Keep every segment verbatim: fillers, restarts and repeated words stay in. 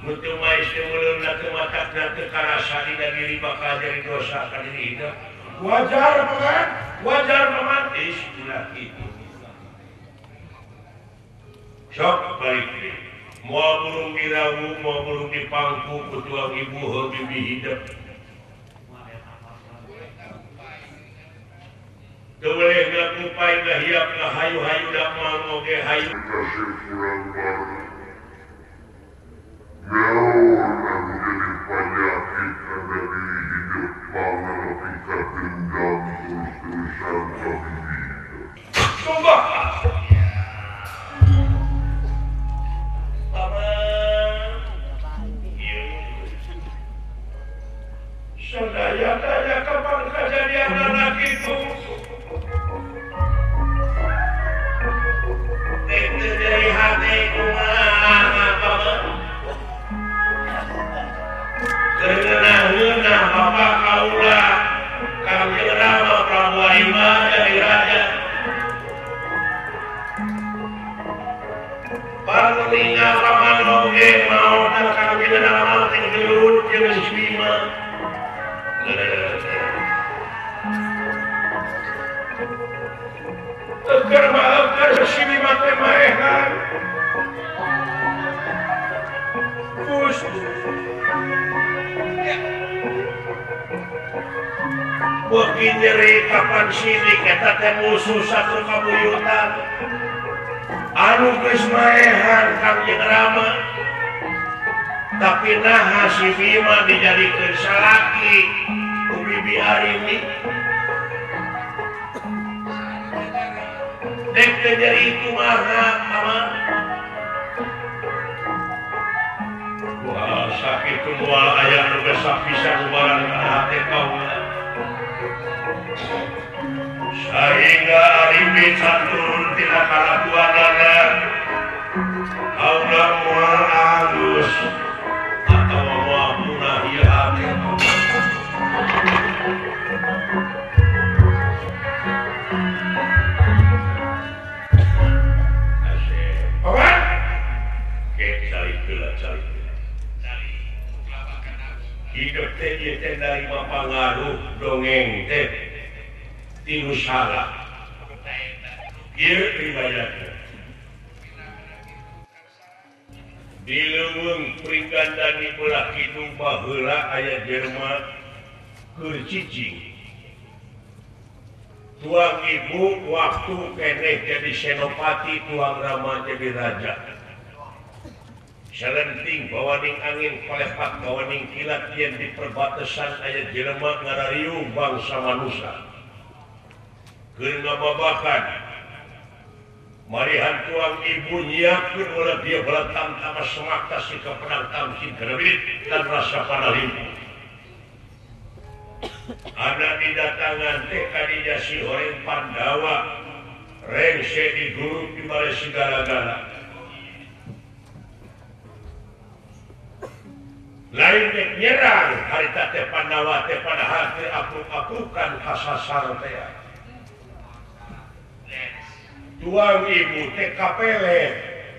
Mutu mais muluna ke matakna ke karasa dina diri bakal jadi dosa ka diri hidup. Wajar paman, wajar paman istilah itu. Sok balik deh. Mau burung dirawu, mau burung dipangku, kutuang ibu bibi hidup. Boleh ngakupai ngahiap ngahayu-hayu dak mau ge hayu. Kasih kurang baru. Naon anu jadi penyakit dari hidup pangarapika dendam terus-terusan kabini. Coba. Paman. Iya. Sadaya-daya kapan kejadian anak itu? Itu dari hati kumaha paman. Kenah-kenah bapak kaula kami Rama Prabu Aima dari Raja Panulinga paman oge mau dan kami nama ting gelut jeung Bima tegar maafkan si Bima teh maehan Gusti Bagi nyeri kapan sini kita teh musuh satu kabuyutan anu geus maehan Kangjeng Rama tapi naha si Bima dijadikeun salaki ku Bibi Arini dek teh nyeri kumaha paman wah sakitu moal aya nu geus sapisan barang ka hate kaula sehingga Arifin turun tidak kalah tuanana kaula moal alus atau moal punah ieu hati Paman ke cari gula cari hidup teh ieu teh dari mapangaruh dongeng teh tinu salah ieu riwayatna di leuweung Pringgandani belah kidung baheula aya jelema keur cicing tuang ibu waktu keneh jadi senopati tuang Rama jadi raja salenting bawaning angin palepat bawaning kilat yen di perbatasan aya jelema ngarariung bangsa manusia keur ngababakan marihan tuang ibu nyiapkeun ulah dia belatang tama semak tasih ka pedang tamkin kerebit dan rasa panalimpu ada didatangan teh kadinya si Horeng Pandawa rengse diguruk di balai segala-gala lain dek nyerang harita teh Pandawa teh padahal teh apruk-aprukan kasasar teh tuang ibu teh kapele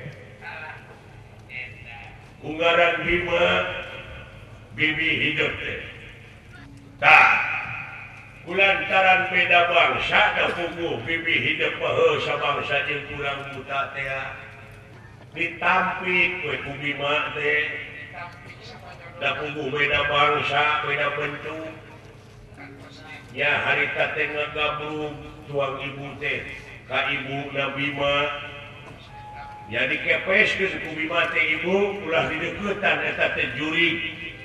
unggaran Bima Bibi hidup teh tah kulantaran beda bangsa da puguh Bibi hidup heuh sabangsa jeung kurang buta teh ditampik we ku Bima teh da puguh beda bangsa beda bentuk nya harita teh ngagabung tuang ibu teh ka ibu na Bima jadi kepeskeun ku Bima teh ibu ulah dideuketan eta teh jurig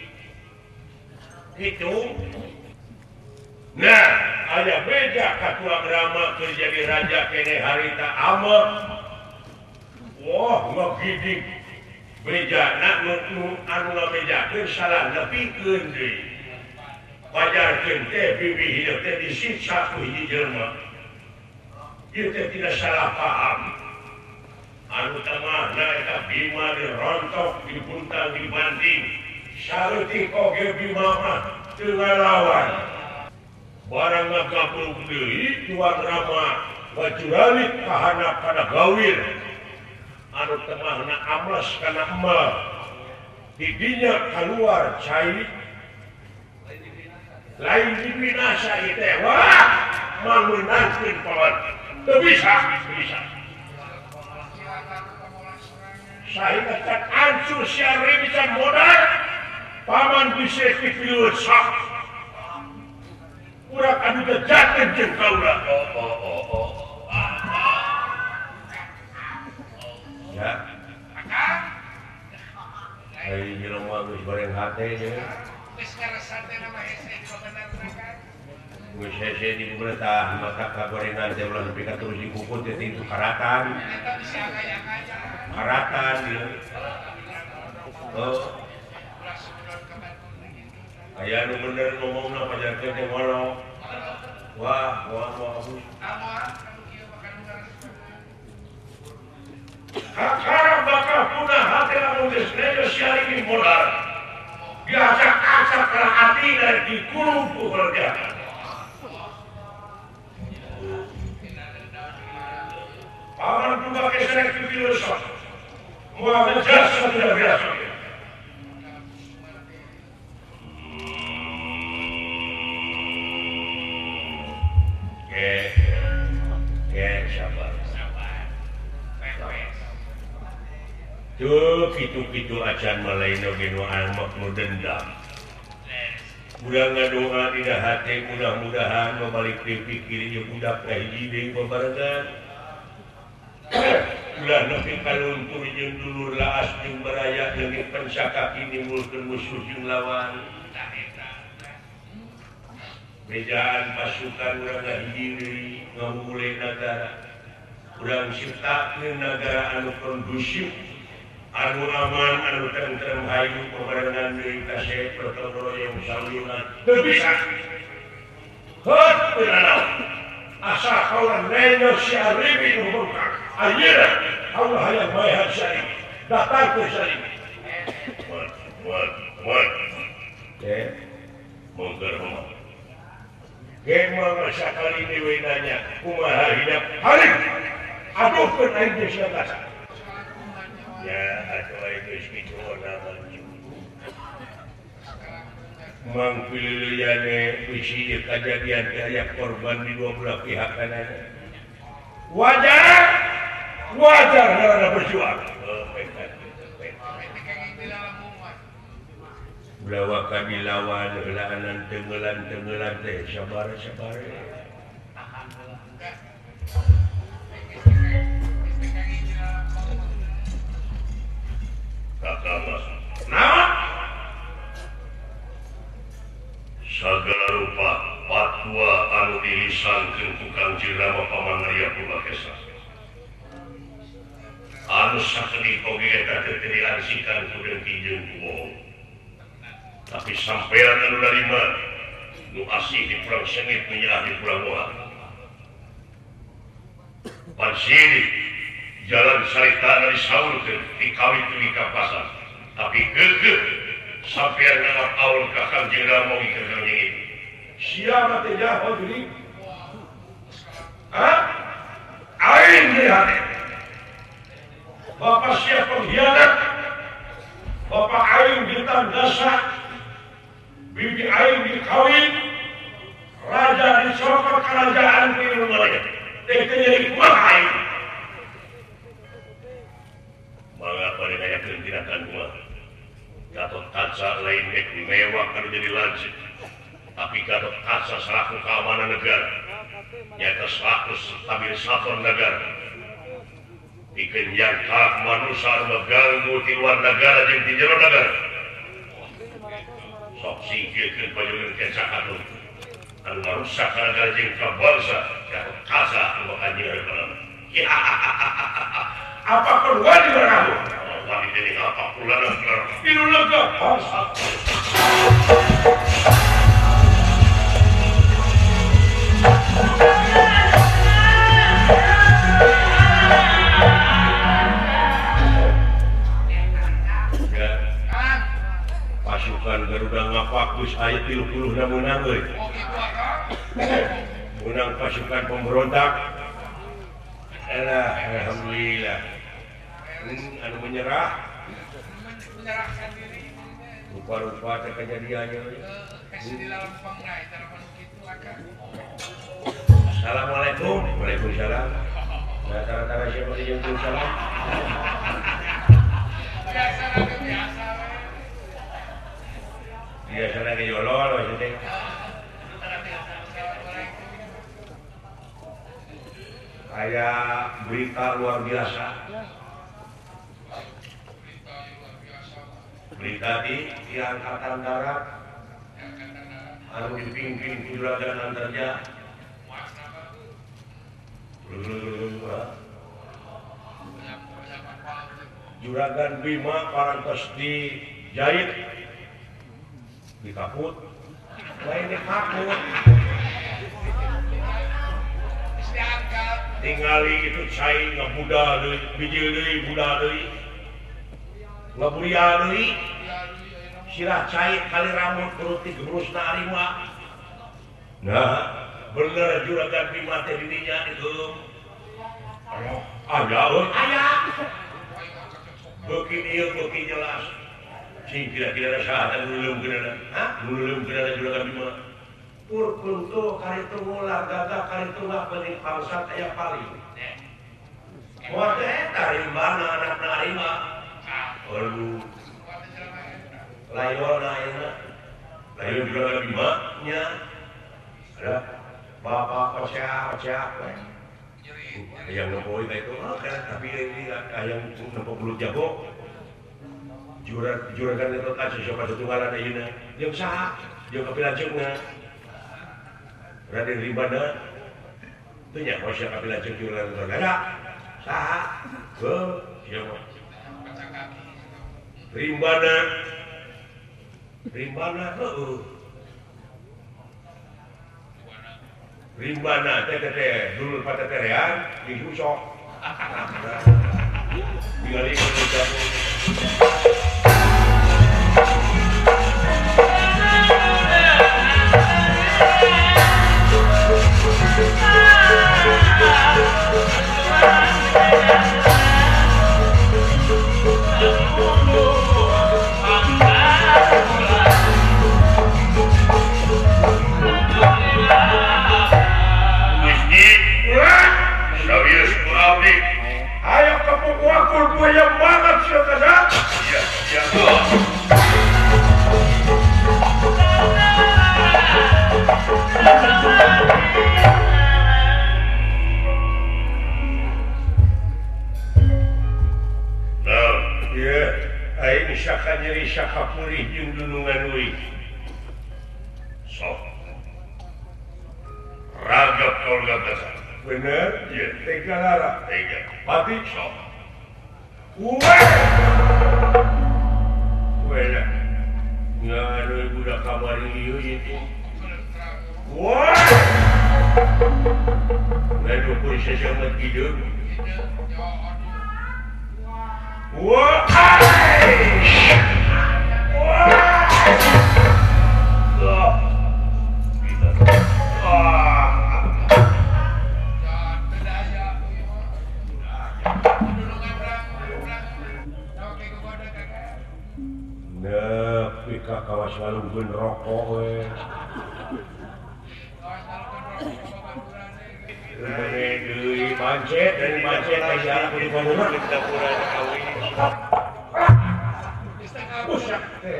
kitu nah aya beja ka tuang Rama keur jadi raja keneh harita ama wah ngagidik bejana nu anu ngabejakeun salah nepikeun deui pajarkeun teh Bibi hidup teh disiksa ku hiji jelema ieu teh tidak salah paham anu tamahna eta Bima dirontok dibuntang dibanding saeutik oge Bima mah teu ngalawan barang ngagabruk deui tuang Rama bajuralit kahanap kana gawir anu temahna amles kana emal didinya keluar cair lain dibinasa itu wah menangkin paman tidak bisa bisa saya kata ancur siari bisa modal paman bisa dipilih sah kurang adu kejatin jengkau lah oh oh oh oh ya Hai jelema geus goreng hate jeung geus ngaresate nama hese di bener kan geus hese di bener maka kagorengan teh ulah nepi ka terus dikukut teh itu karatan eta bisa kaya-kaya karatan dia oh aya nu bener ngomongna pajarkeun teh ngolo wah wah wah Hakara bakal punah hati lamun geus negosiasi modal. Diacak-acak ke hati dan dikurung ku kerja. Paman juga keserek ke filosof. Mua ngejasa tidak biasa. Oke, oke, sabar. Tuh gitu-gitu acan malain oge nu amak nu dendam. Udah ngadoa dina hati mudah-mudahan membalik pikir ieu budak ka hiji deui babarengan. Ulah nepi kaluntur jeung dulur laas jeung baraya leungit pencakaki nimbulkeun musuh jeung lawan. Bejaan pasukan urang ngahiji deui ngamulai negara. Urang ciptakeun negara anu kondusif anu aman, anu tentrem hayu pembarengan deui kasih protokol yang saluran teu bisa hot beunana asa kawan neno si aribi nu bengkak ayeuna Allah hayang maehan sari datang ke sari wat wat wat ke mongger mongger ke mangga sakali deui nanya kumaha hidup hari aduh keun aing geus ngatasan ya atau itu segitu nama mangpililiane isi kejadian kayak korban di dua belah pihak kanan wajar wajar karena berjuang belawa kami lawan helanan tenggelan tenggelan teh sabar sabar Kakak nama segala rupa patwa anu dilisankeun ku Kang Jirama Paman Arya Purbakesa anu sakeutik oge eta teu diarsikan ku dengki jeung ku bohong tapi sampean anu narima nu asih di pulang sengit menyerah di pulang moha pansiri jalan sarita dari saulkeun dikawin tu di kapasan tapi geugeuh sampean nganggap aul ka Kang Jenderal mau keur Kang Jengit siapa teh jaho jadi hah aing lihat bapak siap pengkhianat bapak aing ditang dasak bibi aing dikawin raja dicopot kerajaan di rumah teh jadi kumaha aing mengapa dikayakeun tindakan gua Gatot Kaca lain dek mewah kan jadi lancip tapi Gatot Kaca selaku keamanan negara nyata selaku stabilisator negara bikin yang tak manusia mengganggu di luar negara jeung di jero negara sok singkirkeun payeueun kecakatul anu ngarusak negara jeung kabangsa Gatot Kaca anu anjeun hareupeuna apa keluar di kamu? Wali ini apa pulang keluar? Ini lega. Pasukan Garuda ngapakus ayat tiga puluh na menang euy. Menang pasukan pemberontak. Alah, alhamdulillah. Anu menyerah menyerahkan diri rupa-rupa teh kejadiannya. Kasih di dalam pangrai telepon gitu akan. Assalamualaikum. Waalaikumsalam. Nah, tara-tara siapa yang salam? Biasa lagi biasa. Biasa lagi yolol maksudnya. Kayak berita luar biasa. Berita di, di Angkatan Darat anu dipimpin Juragan Antarja. Juragan Bima parantos dijahit dikaput lain dikaput tinggali itu cai ngabuda deui bijil deui buda deui ngaburia deui sirah cai kali rambut turut digebrusna arima. Nah bener Juragan Bima teh dirinya digeum aya euy aya beuki ieu beuki jelas sing kira-kira saha nulung keunana hah nulung keunana Juragan Bima pur kuntu kali tunggulah gagah kali tunggal penting bangsat aya paling moal teh eta rimbana anakna arima aduh layona ayeuna layon Juragan Bima nya ada bapak pecah-pecah yang ngepoin itu kan tapi ini yang nempo belut jago jurag juragan itu kan siapa setunggalan ayeuna jeung saha jeung kapilanceungna Raden Rimbana teu nya poe sia kapilanceung juragan ada saha ke siapa Rimbana Rimbana heuh Rimbana teh teh dulu pada terean di susok tinggal ikut jago ayo kepuk wakul buaya banget sih kata iya iya nah iya ayo syaka nyeri syaka purih jeung dunungan uih sok ragap kau gagasan bener? Iya. Tega lara? Tega. Mati? Sok. Uwe! Uwe lah. Nggak ada budak kamar iyo itu. Uwe! Nggak ada pun sesangat hidup. Uwe! Uwe! Loh. Kita. Ah. Nah, pika kawas ngalungkeun rokok we. Mene deui pancet dari pancet teh jarak di bangunan di dapuran kawin. Busak teh.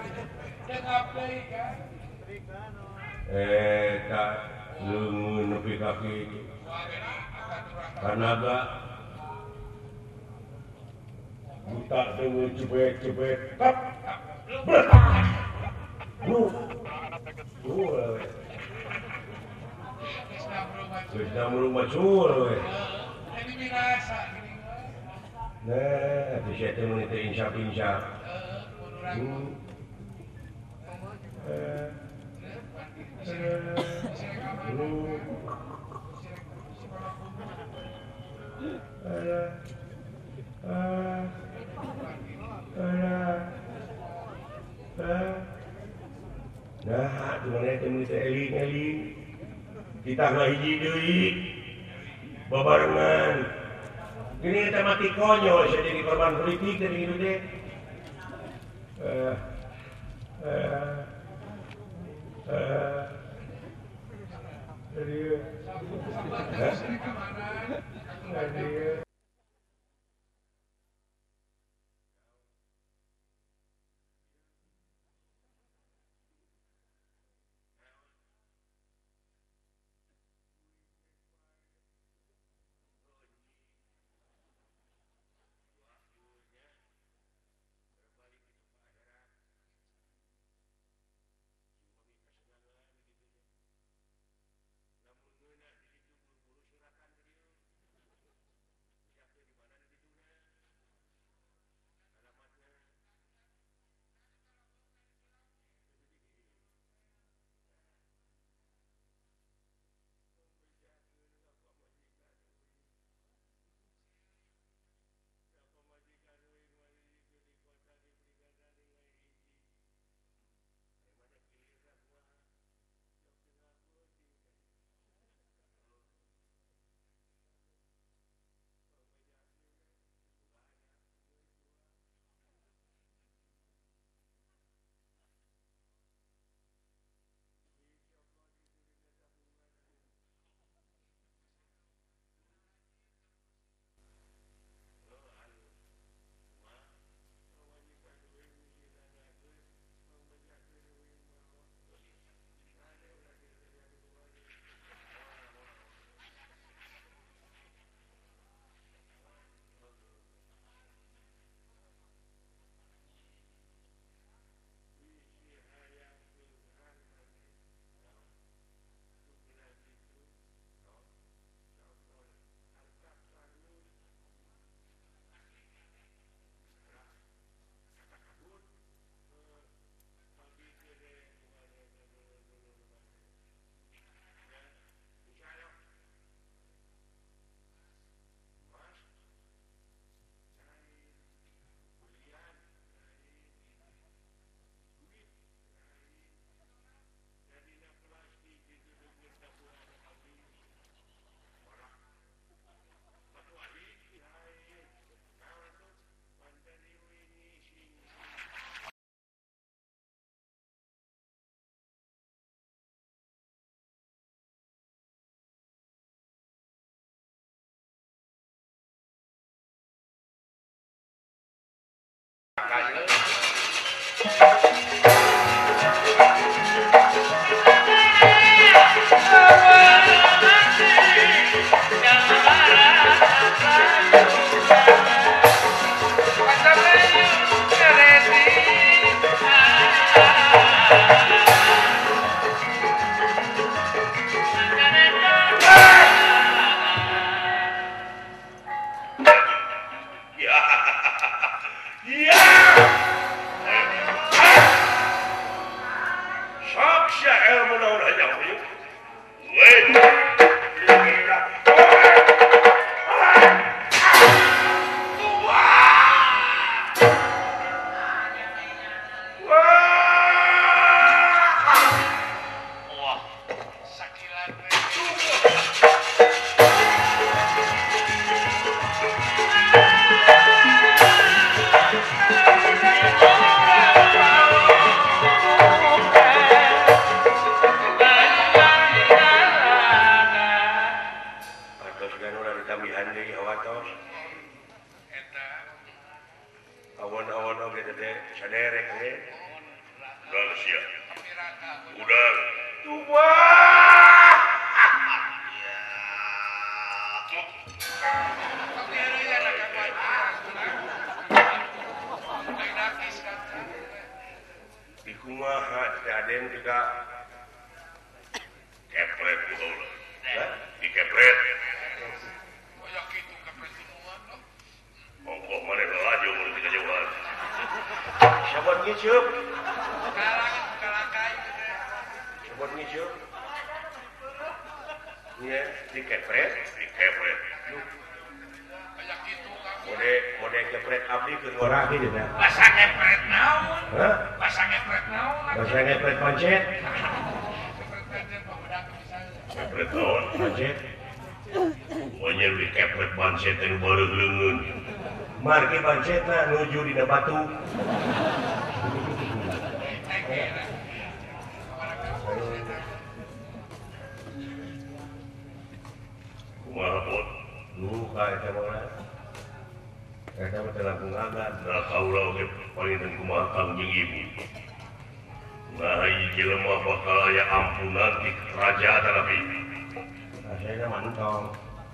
Eh, ka leungeun nepi ka kitu. Kanaga buta dengan jebet-jebet tap bertahan lu lu sudah merung macur nah bisa itu menit insya-insya hmm eh lu eh eh nah, dimana itu menurut eling-eling kita nggak hiji deui babarengan ini kita mati konyol saya jadi korban politik dari itu deh eh, derek eh. Udah siap. Tapi raka. Udah. Coba. Tapi ada ya raka kuat. Lain nakis kan. Di kumaha Aden juga Kepret gitu lah. Hah? Di kepret. Koyak itu kepresidenan loh. Ongkoh mana laju mau tiga jauhan. Siapa ngiceup? Kalangan kalakai gitu. Siapa ngiceup? Iya, di kepret. Di kepret. Koyak itu kan. Mode mode kepret abdi keur ngorah kieu nya. Bahasa ngepret naon? Hah? Bahasa ngepret naon? Bahasa ngepret pancet. Ngepret pancet pembedak misalnya. Kepret tahun. Pancet. Pokoknya di kepret banset yang baru lengan. Marki pancetna nuju dina batu. Kumaha pot. Lu ka eta mah. Eta mah teh langkung agan. Nah kaulah oke paling dan kumaha kang jeung ibu. Nah ieu jelema bakal aya ampunan di kerajaan tapi. Rasana mantong.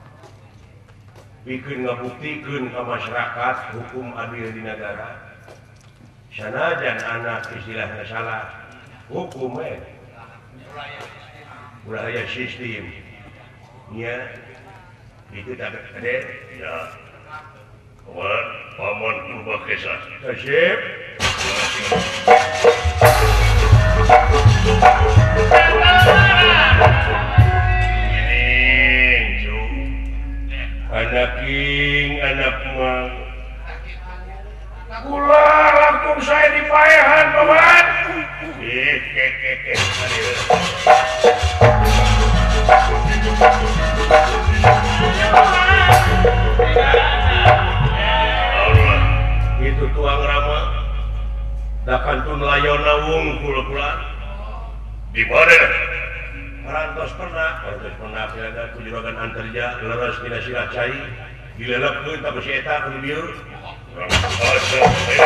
Bikin ngabuktikeun ka masyarakat hukum adil di negara. Sanajan anak istilahnya salah, hukum eh. Ulah aya sistem. Nya itu tak ada. Ya. Kawan paman purba kesa. Kasih. Anak king, anak mang. Kula langsung saya dipayahan, paman. Eh, ke ke ke. Allah, Itu tuang rama. Dakantun layona wungkul kula. di mana? Parantos pernah, parantos pernah kira kujuragan antarja, leres mina sirah cai, dilelepkeun ka besi eta ku dieu. Asa,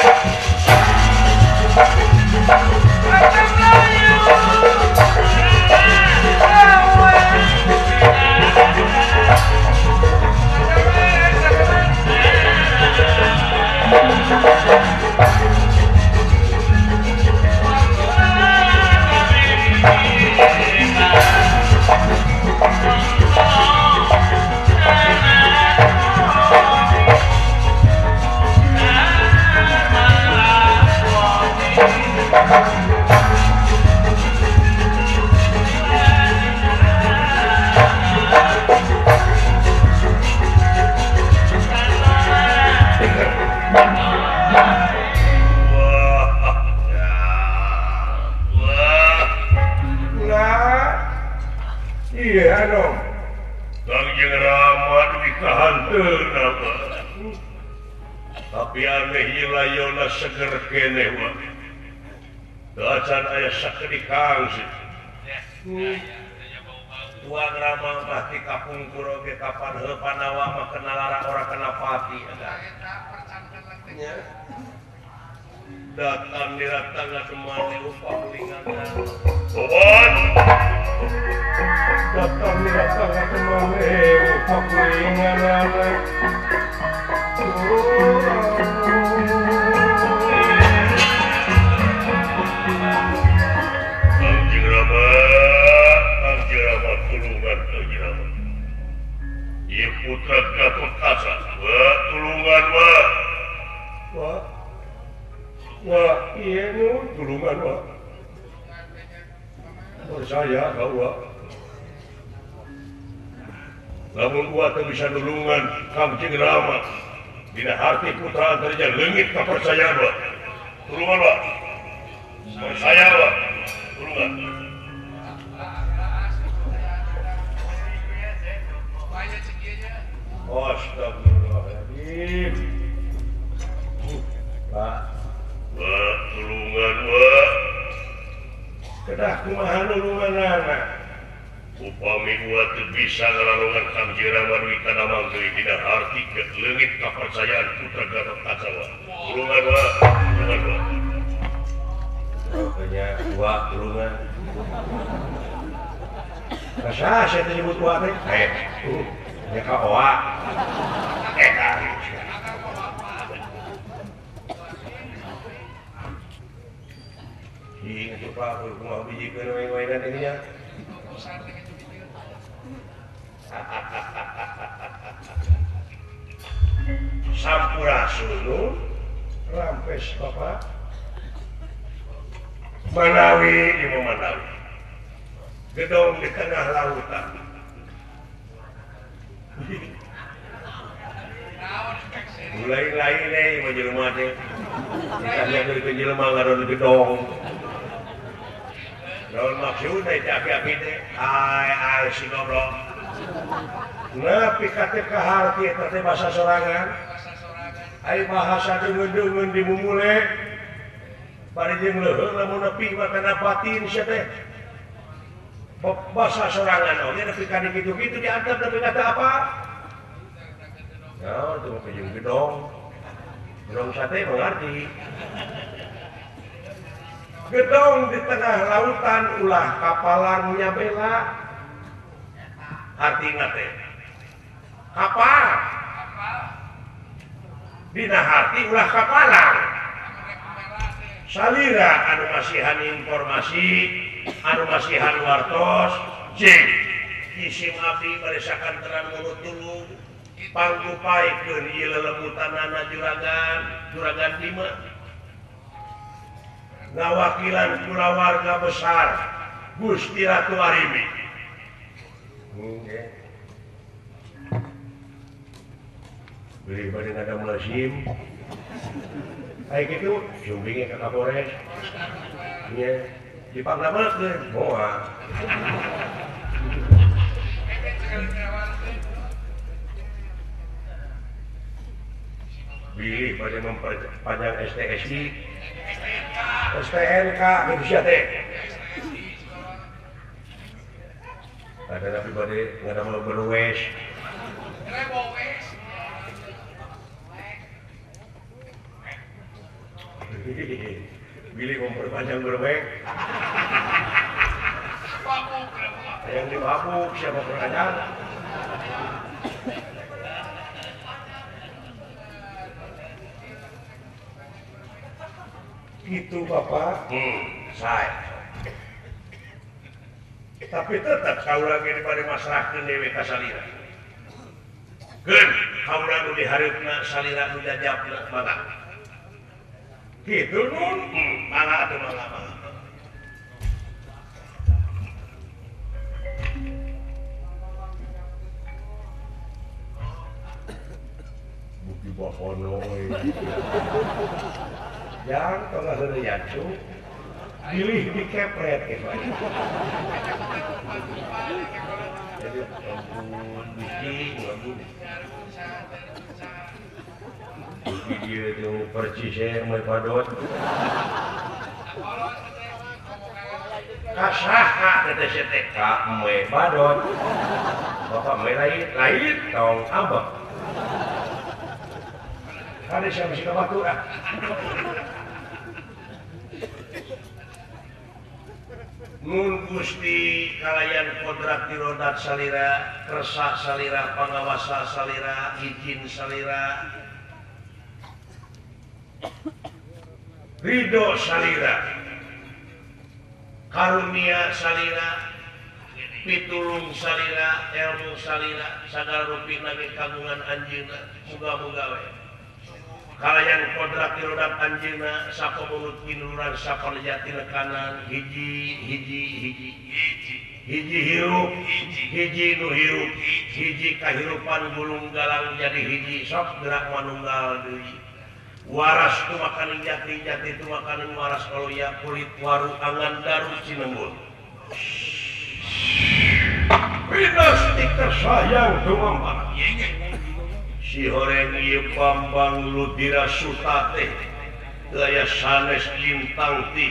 Nah, iya dong. Kang jeung Rama di kahanteun apa? Tapi aneh ieu layona seger keneh wa. Dacan aya sakedikang sih. Tuang rama mah ti kapungkur oge kapan heuh panawa mah kenal lara ora kena pati ada. Nya. Datang di ratangna temani upah lingangan. Sobat, Datang di ratangna temani upah lingangan. Kang jeung Rama, Kang jeung Rama tulungan Kang jeung Rama. Ieu putra Gatotkaca, wa tulungan wa. Wah, wah, iya nu tulungan wah. Percaya kau wah. Lamun gua teu bisa nulungan Kang Jeung Rama, dina harti putra antarja leungit kapercayaan wah. Tulungan wa. Percaya wa. Tulungan. Astagfirullahaladzim. Pak, Wa tulungan wa. kedah kumaha nulunganana? Upami wa teu bisa ngalalungan Kang Jeung Rama duwi kana manggeuli dina harti ke leungit kapercayaan putra Gatotkaca wa. Tulungan wa. Tulungan wa. tua tulungan. Kasa saya nyebut tua teh. Eh, ya ka oa. Eh, kali. Ih, itu Pak, aku mau biji kena-kena ini ya. Sampurasun rampes Bapak Manawi di Manawi gedong di tengah lautan mulai lain nih menjelma teh ditanya dari penjelma ngaron gedong daun maksud teh api-api teh ai ai si goblok nepi ka teh ka harti eta teh bahasa sorangan ai bahasa deungeun-deungeun dimumule bari jeung leuheung lamun nepi makana batin sia teh bahasa sorangan oge nepi ka kitu-kitu diantep nepi kata apa ya itu mah jeung gedong gedong sate mengerti gedong di tengah lautan ulah kapalan nyabela artina teh kapal dina hati ulah kapalan salira anu masihan informasi anu masihan wartos jeung isim abdi baresakan terang mulut tulung panggupaikeun ieu lelemutanana juragan juragan lima ngawakilan kulawarga besar Gusti Ratu Arimi. Beli bade ngada musim. Kayak gitu, jumbingnya ke Kapolres. Nya dipanggamakeun moal. Bilih bade memperpanjang S T S I S T N K Indonesia teh. Ada tapi bade ngada mau berwes. Bilih memperpanjang berwes. Yang dibabuk siapa perpanjang? Itu Bapak, hmm, saya. Tapi tetap kau lagi daripada masyarakat dewe ka salira. Gen, kau lagi diharapna salira nu jajabna mangga. Gitu nun, hmm, mangga atuh mangga mangga. Bukti bakono. Yang tengah ada yancu pilih dikepret gitu aja. Jadi ampun biki ampun biki dia tuh percisnya mau padot kasaha kata seteka mau padot bapak mau lain lain tong abang ada siapa sih kabatu ah Nun Gusti kalayan kodrat dirodat salira kersa salira pangawasa salira izin salira ridho salira karunia salira pitulung salira ilmu salira sagala rupi nage kagungan anjeunna muga-muga we kalayan kodrat dirodat anjeunna sapa mulut kinuran sapa lejati kanan hiji hiji hiji hiji hiji hirup hiji nu hirup hiji kahirupan gulung galang jadi hiji sok gerak manunggal deui waras tu makanan jati jati tu makanan waras kalau ya kulit waru angan daru cinembut pinas tikar sayang tumambang si horeng ieu Bambang Ludira Sutate gaya sanes lintang ti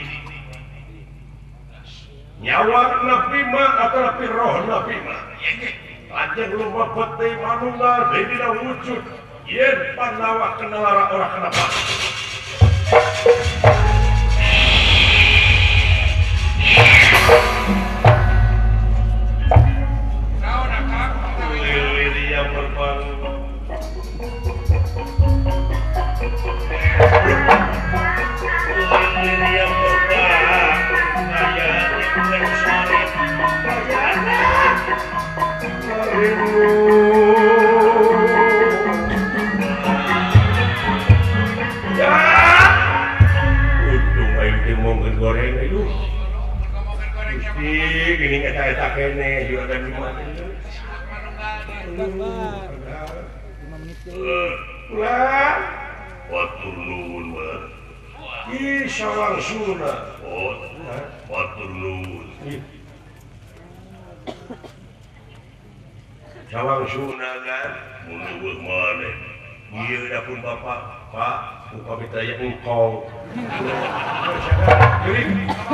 nyawa nabi mah atau roh nabi mah lajeng lupa peti manunggal dina wujud yen panawa kenalara orang kenapa Ya. Untung aing teh mau goreng itu. Ngomongin goreng yang Gusti, gini eta-eta kene juragan lima itu. Ulah. Watur nuwun mah. Ih, sawang suna. Oh, watur nuwun. Sawang suna kan. Mun eueuh maneh. Ieu dapun Bapak, Pak, upami teh aya engkong. Jadi,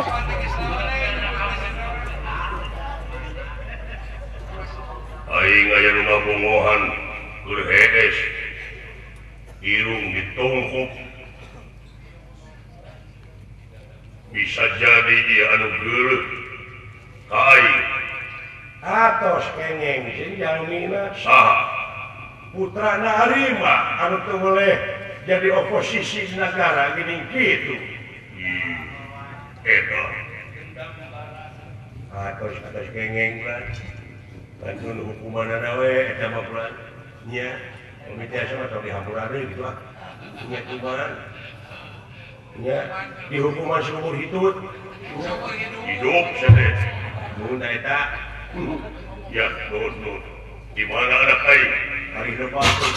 Aing aya nu ngabongohan keur hees. Irung ditongkok. Bisa jadi ieu anu geuleuh ka aing. atos kengeng sing jalmina Saha? putra Narima anu teu boleh jadi oposisi negara gini gitu. Ih, eta. Atos atos kengeng lah. Bantuan hukumanana we eta mah pulang. Nya, komite sama tong dihampura deui gitu ah. Nya kumaha? Nya dihukuman seumur hidup. Hidup sadet. Mun eta Ya, nuhun nuhun. Di mana anak aing? hari depan tuh.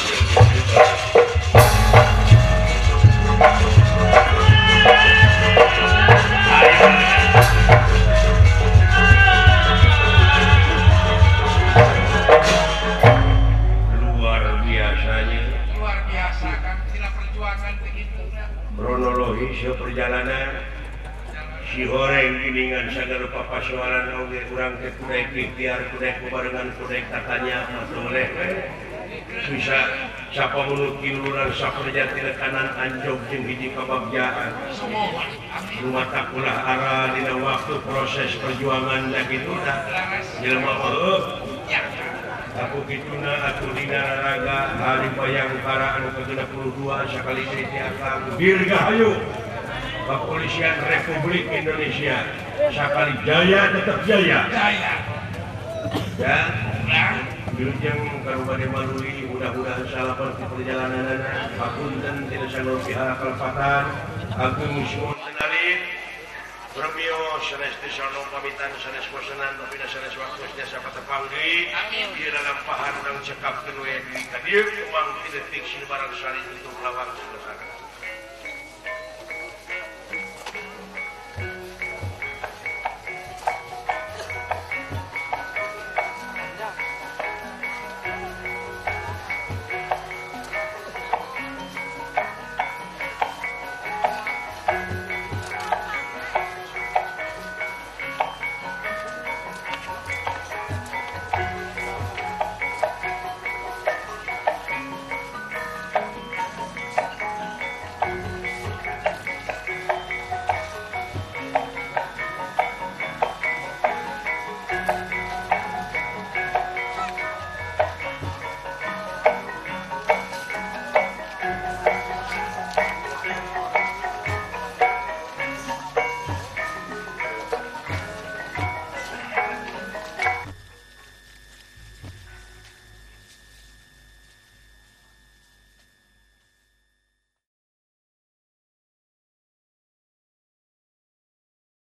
Luar biasanya luar biasa kan sila perjuangan begitu nah. kronologis perjalanan si horeng giningan sagala papasoalan oge urang teh kudu ikhtiar kudu kubarengan kudu tatanya oleh bisa siapa mulut kiluran saperja ti kanan anjog jeung hiji kabagjaan rumah takulah arah dina waktu proses perjuangan da kitu da jelema heuh aku kituna atuh dina raga hari bayangkara anu kagenep puluh dua sakali titi akang dirgahayu Kepolisian Republik Indonesia sakali jaya tetap jaya Jaya ya nah Wilujeng karubade malui mudah-mudahan salapan di perjalanan pakunten tidak sanur pihak kelepatan agung musuh tenalin Bremio sanes tisano pamitan sanes wasanan tapi sanes waktu jasa patepanggi di dalam pahan urang cekap kenue di kadieu umang detik sini barang sari untuk lawang selesai